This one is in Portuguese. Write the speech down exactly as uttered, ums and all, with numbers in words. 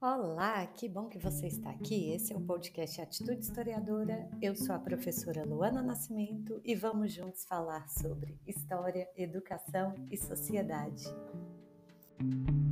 Olá, que bom que você está aqui. Esse é o podcast Atitude Historiadora. Eu sou a professora Luana Nascimento e vamos juntos falar sobre história, educação e sociedade.